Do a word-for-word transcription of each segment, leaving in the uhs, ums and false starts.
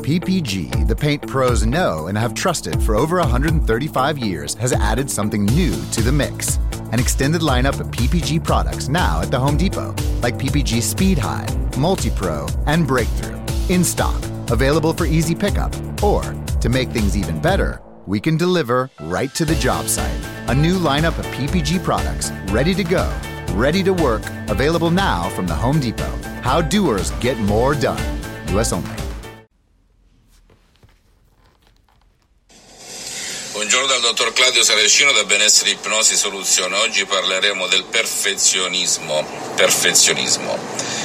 P P G, the paint pros know and have trusted for over one hundred thirty-five years, has added something new to the mix. An extended lineup of P P G products now at the Home Depot, like P P G Speed High, Multi-Pro, and Breakthrough. In stock, available for easy pickup, or, to make things even better, we can deliver right to the job site. A new lineup of P P G products, ready to go, ready to work, available now from the Home Depot. How doers get more done. U S only. Buongiorno dal dottor Claudio Saracino da Benessere Ipnosi Soluzione. Oggi parleremo del perfezionismo. Perfezionismo.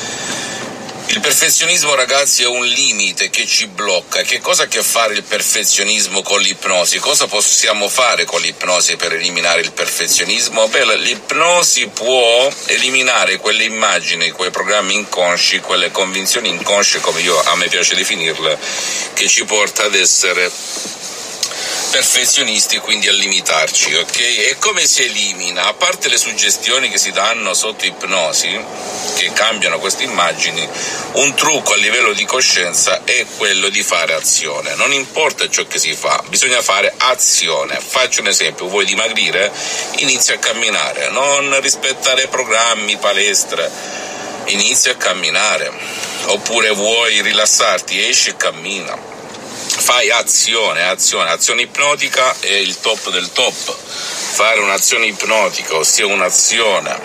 Il perfezionismo, ragazzi, è un limite che ci blocca. Che cosa ha a che fare il perfezionismo con l'ipnosi? Cosa possiamo fare con l'ipnosi per eliminare il perfezionismo? Beh, l'ipnosi può eliminare quelle immagini, quei programmi inconsci, quelle convinzioni inconsce, come io a me piace definirle, che ci porta ad essere perfezionisti, quindi a limitarci, ok? E come si elimina? A parte le suggestioni che si danno sotto ipnosi, che cambiano queste immagini, un trucco a livello di coscienza è quello di fare azione. Non importa ciò che si fa, bisogna fare azione. Faccio un esempio: vuoi dimagrire? Inizia a camminare, non rispettare programmi, palestre, inizia a camminare. Oppure vuoi rilassarti? Esci e cammina. Fai azione, azione, azione ipnotica è il top del top. Fare un'azione ipnotica, ossia un'azione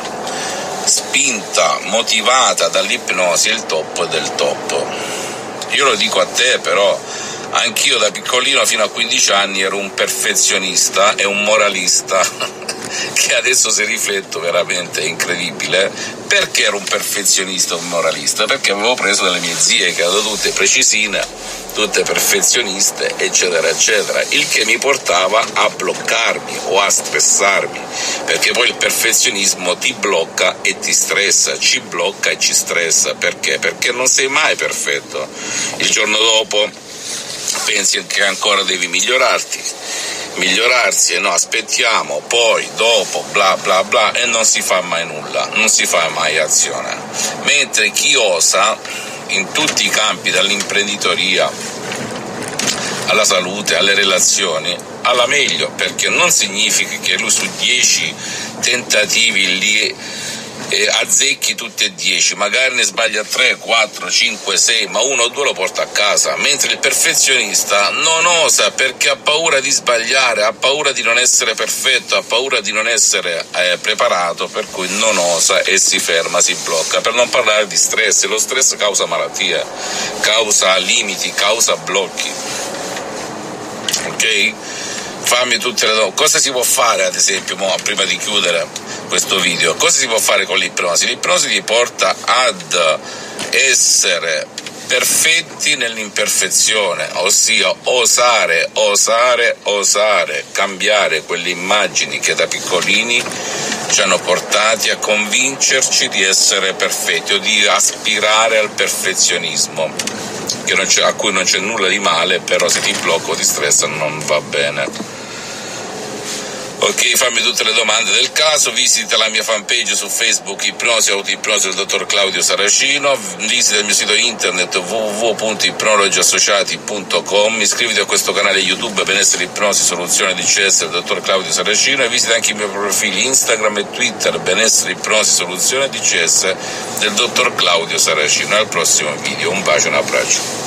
spinta, motivata dall'ipnosi, è il top del top. Io lo dico a te, però anch'io da piccolino fino a quindici anni ero un perfezionista e un moralista che adesso, se rifletto, veramente è incredibile. Perché ero un perfezionista e un moralista? Perché avevo preso dalle mie zie, che erano tutte precisine, tutte perfezioniste, eccetera eccetera, il che mi portava a bloccarmi o a stressarmi, perché poi il perfezionismo ti blocca e ti stressa, ci blocca e ci stressa. Perché? Perché non sei mai perfetto. Il giorno dopo pensi che ancora devi migliorarti, migliorarsi, e no, aspettiamo, poi, dopo, bla bla bla, e non si fa mai nulla, non si fa mai azione. Mentre chi osa, in tutti i campi, dall'imprenditoria alla salute, alle relazioni, alla meglio, perché non significa che lui su dieci tentativi li eh, azzecchi tutti e dieci, magari ne sbaglia tre, quattro, cinque, sei, ma uno o due lo porta a casa. Mentre il perfezionista non osa perché ha paura di sbagliare, ha paura di non essere perfetto, ha paura di non essere eh, preparato, per cui non osa e si ferma, si blocca. Per non parlare di stress. Lo stress causa malattie, causa limiti, causa blocchi, ok? Fammi tutte le domande. Cosa si può fare, ad esempio, mo, prima di chiudere questo video, cosa si può fare con l'ipnosi? L'ipnosi ti porta ad essere perfetti nell'imperfezione, ossia osare, osare, osare, cambiare quelle immagini che da piccolini ci hanno portati a convincerci di essere perfetti o di aspirare al perfezionismo, che non c'è, a cui non c'è nulla di male, però se ti blocca o ti stressa non va bene. Ok, fammi tutte le domande del caso, visita la mia fanpage su Facebook, Ipnosi Autoipnosi del dottor Claudio Saracino, visita il mio sito internet w w w punto ipnologi associati punto com, iscriviti a questo canale YouTube Benessere Ipnosi Soluzione D C S del dottor Claudio Saracino, e visita anche i miei profili Instagram e Twitter Benessere Ipnosi Soluzione D C S del dottor Claudio Saracino. Al prossimo video, un bacio e un abbraccio.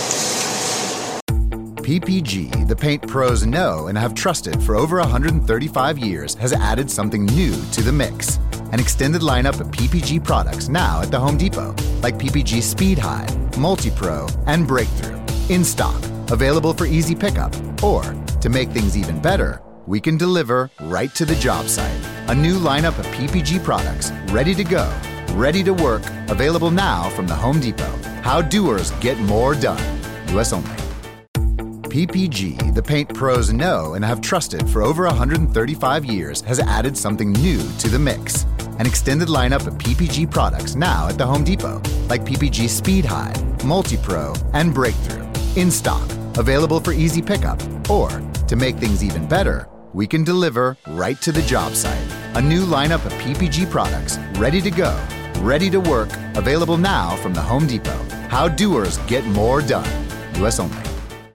P P G, the paint pros know and have trusted for over one hundred thirty-five years, has added something new to the mix. An extended lineup of P P G products now at the Home Depot, like P P G Speed High, Multi-Pro, and Breakthrough. In stock, available for easy pickup, or, to make things even better, we can deliver right to the job site. A new lineup of P P G products, ready to go, ready to work, available now from the Home Depot. How doers get more done. U S only. P P G, the paint pros know and have trusted for over one hundred thirty-five years, has added something new to the mix. An extended lineup of P P G products now at the Home Depot, like P P G Speed High, Multi-Pro, and Breakthrough. In stock, available for easy pickup, or, to make things even better, we can deliver right to the job site. A new lineup of P P G products, ready to go, ready to work, available now from the Home Depot. How doers get more done. U S only.